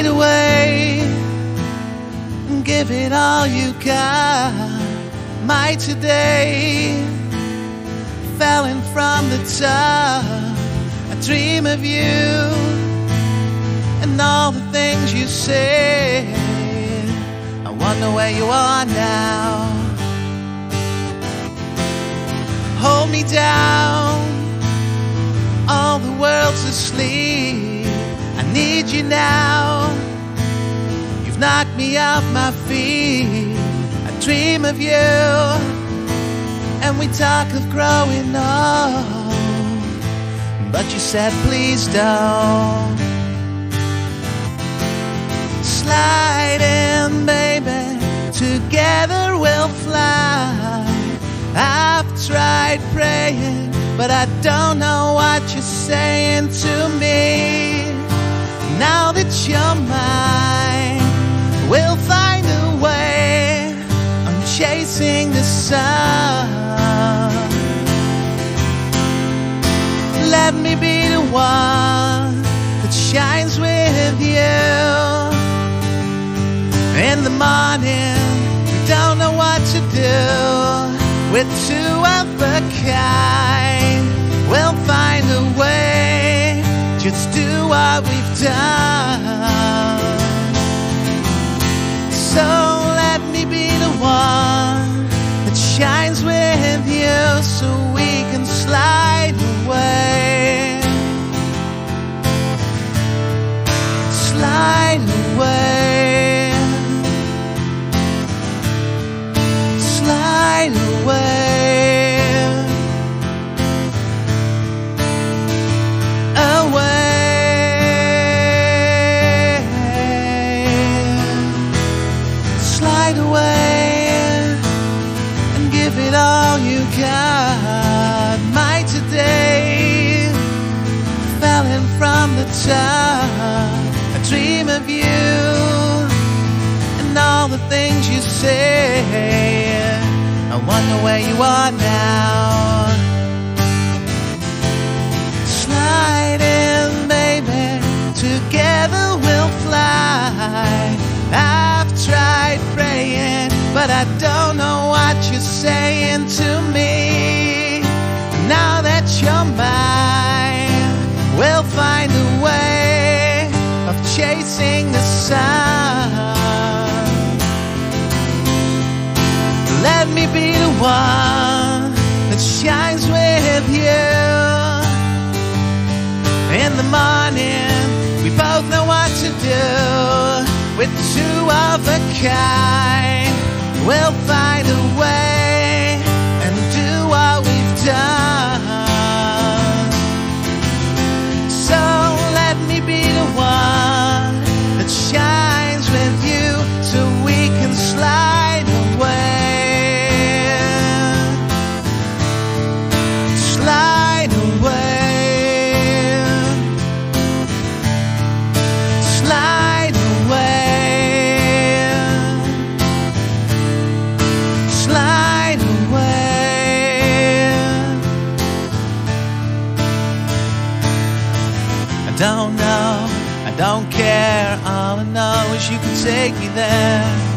Slide away and give it all you got. My today falling from the top. I dream of you and all the things you say. I wonder where you are now. Hold me down, all the world's asleep. I need you now. You've knocked me off my feet. I dream of you, and we talk of growing old, but you said please don't. Slide in, baby, together we'll fly. I've tried praying, but I don't know what you're saying to me. Now that you're mine, we'll find a way. I'm chasing the sun. Let me be the one that shines with you. In the morning, we don't know what to do. We're two of a kind. We'll find a way. Just do what we've done. So let me be the one that shines with you, so we can slide away. Slide away. Slide away. All you got. My today falling from the top. I dream of you and all the things you say. I wonder where you are now. Slide in, baby, together we'll fly. I've tried praying, but I don't know what you're saying to me. Now that you're mine, we'll find a way of chasing the sun. Let me be the one that shines with you. In the morning, we both know what to do. We're two of a kind. We'll find a way and do what we've done. So let me be the one that shines with you, so we can slide away. Slide away. Slide away. I don't know, I don't care. All I know is you can take me there.